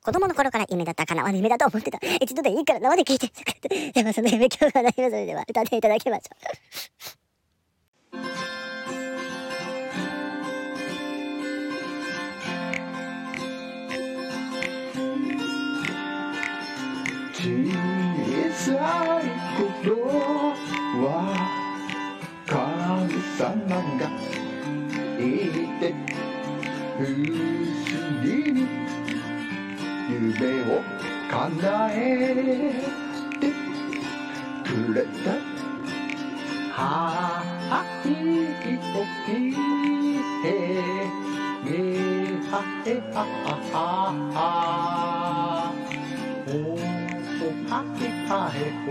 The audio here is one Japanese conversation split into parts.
子供の頃から夢だった叶わぬ夢だと思ってた。一度でいいから生で聞いて。でもその夢今日はないの。それでは歌っていただきましょう。 小さい頃は神様がいて不思議に夢を叶えてくれた。はいおきへめはへはははおはへはへほ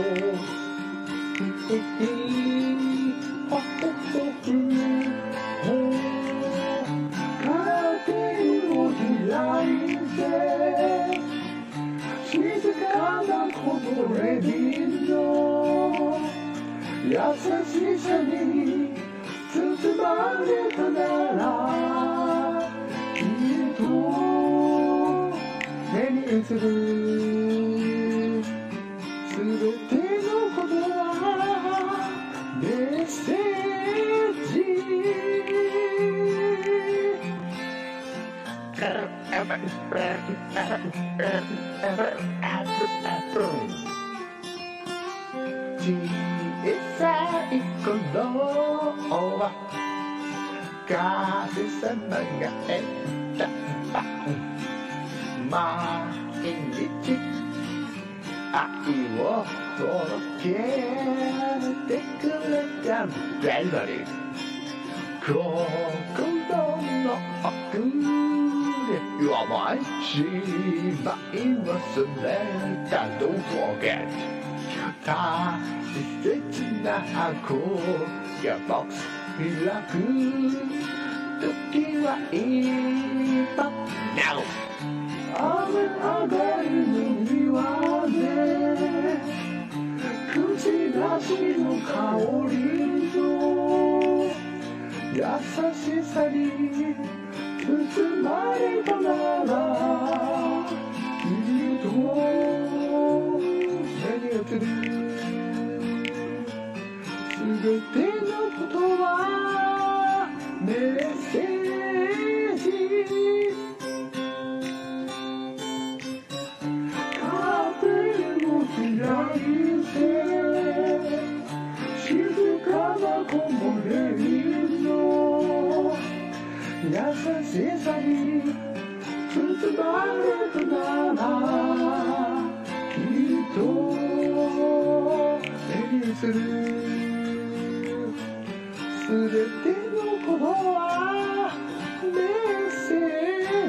へへはほほふほカーテンを開いて静かなこぼれ日の優しさに包まれたならきっと目に映るすべてのことはメッセージ。小さい頃は神様が選んだ毎日愛を届けてくれたベロディ心の奥で甘い芝居忘れた Don't forget 大切な箱やボックス開く時は今 Now 雨上がりの庭で口出しの香りの優しさに包まれたならきっと目に映るすべてのことはメッセージ。カーテンを開いて静かな木漏れ日の優しさに包まれたならきっと目に映るすべてのことはメッセー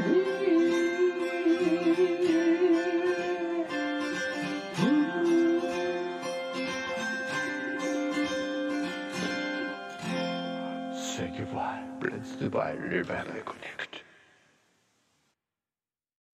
ジ。Thank you for blessed by River Connect.